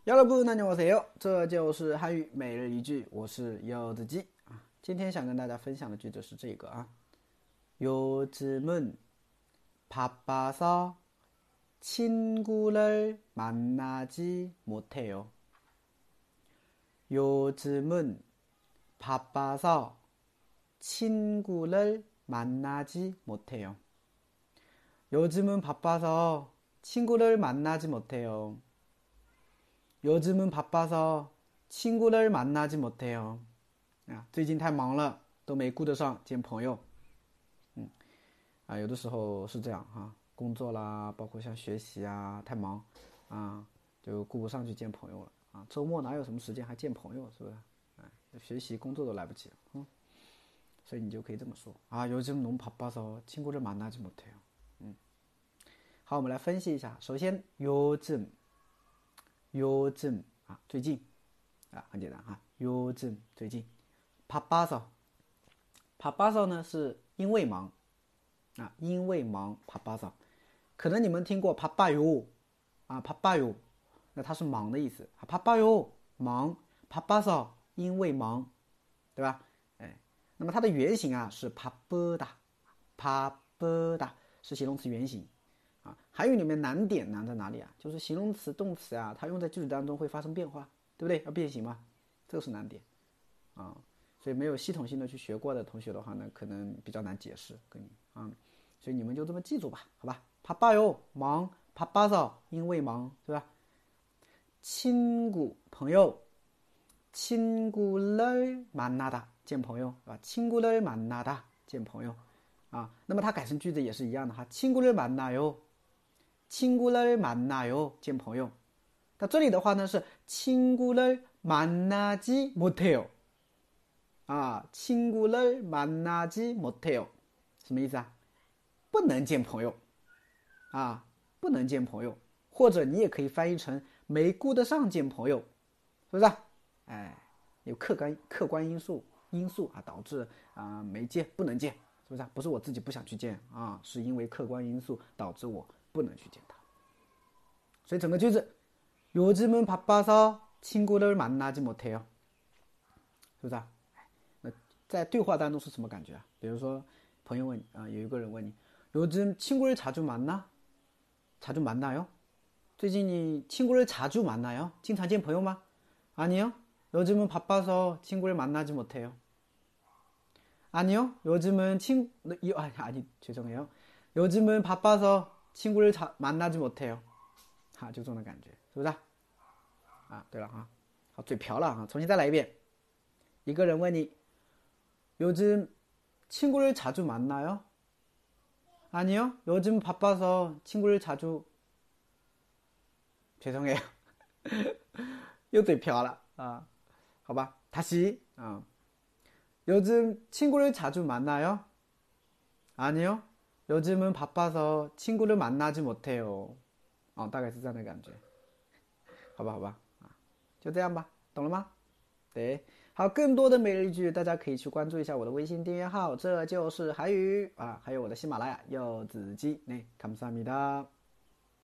여러분 안녕하세요，这就是汉语每日一句，我是柚子鸡啊。今天想跟大家分享的句子是这个啊，요즘은 바빠서 친구를 만나지 못해요. 요즘은 바빠서 친구를 만나지 못해요. 요즘은 바빠서 친구를 만나지 못해요. 요즘은 바빠서 친구를 만나지 못해요. 最近太忙了，都没顾得上见朋友。有的时候是这样哈，工作啦，包括像学习啊，太忙啊，就顾不上去见朋友了啊。周末哪有什么时间还见朋友，是不是？学习工作都来不及了，所以你就可以这么说啊。요즘 너무 바빠서 친구를 만나지 못해요。好，我们来分析一下。首先요즘啊，最近啊，很简单哈。요즘最近바빠서呢是因为忙啊，因为忙바빠서。可能你们听过바빠요啊，바빠요，那它是忙的意思啊，바빠요忙，바빠서因为忙，对吧？那么它的原型啊是바쁘다是形容词原型。韩语里面难点难在哪里啊？就是形容词、动词啊，它用在句子当中会发生变化，对不对？要变形嘛，这个是难点啊。所以没有系统性的去学过的同学的话呢，可能比较难解释跟你啊。所以你们就这么记住吧，好吧？바빠요忙，바빠서因为忙，对吧？친구朋友，친구를 만나다见朋友，啊，친구를 만나다见朋友啊。那么它改成句子也是一样的哈，친구를 만나요。친구를 만나요见朋友，那这里的话呢是친구를 만나지 못해요啊，친구를 만나지 못해요什么意思啊？不能见朋友啊，不能见朋友，或者你也可以翻译成没顾得上见朋友，是不是？有客观因素啊导致没见不能见，是不是？不是我自己不想去见啊，是因为客观因素导致我不能去见他。所以整个句子요즘은 바빠서 친구를 만나지 못해요，是不是？那在对话当中是什么感觉啊？比如说朋友问你有一个人问你요즘 친구를 자주 만나요？ 最近你친구를 자주 만나요？ 经常见朋友吗？아니요， 요즘은 바빠서 친구를 만나지 못해요。 아니요, 요즘은 죄송해요. 요즘은 바빠서 친구를 만나지 못해요。 就这种的感觉，是不是？对了啊，好，嘴瓢了啊，重新再来一遍。一个人问你요즘 친구를 자주 만나요？ 아니요, 요즘 바빠서 친구를 자주 죄송해요. 又嘴瓢了啊，好吧，다시 요즘 친구를 자주 만나요? 아니요, 요즘은 바빠서 친구를 만나지 못해요。 大概是这样的感觉，好吧，就这样吧，懂了吗？对，好，更多的每日一句，大家可以去关注一下我的微信订阅号，这就是韩语啊，还有我的喜马拉雅柚子鸡，감사합니다。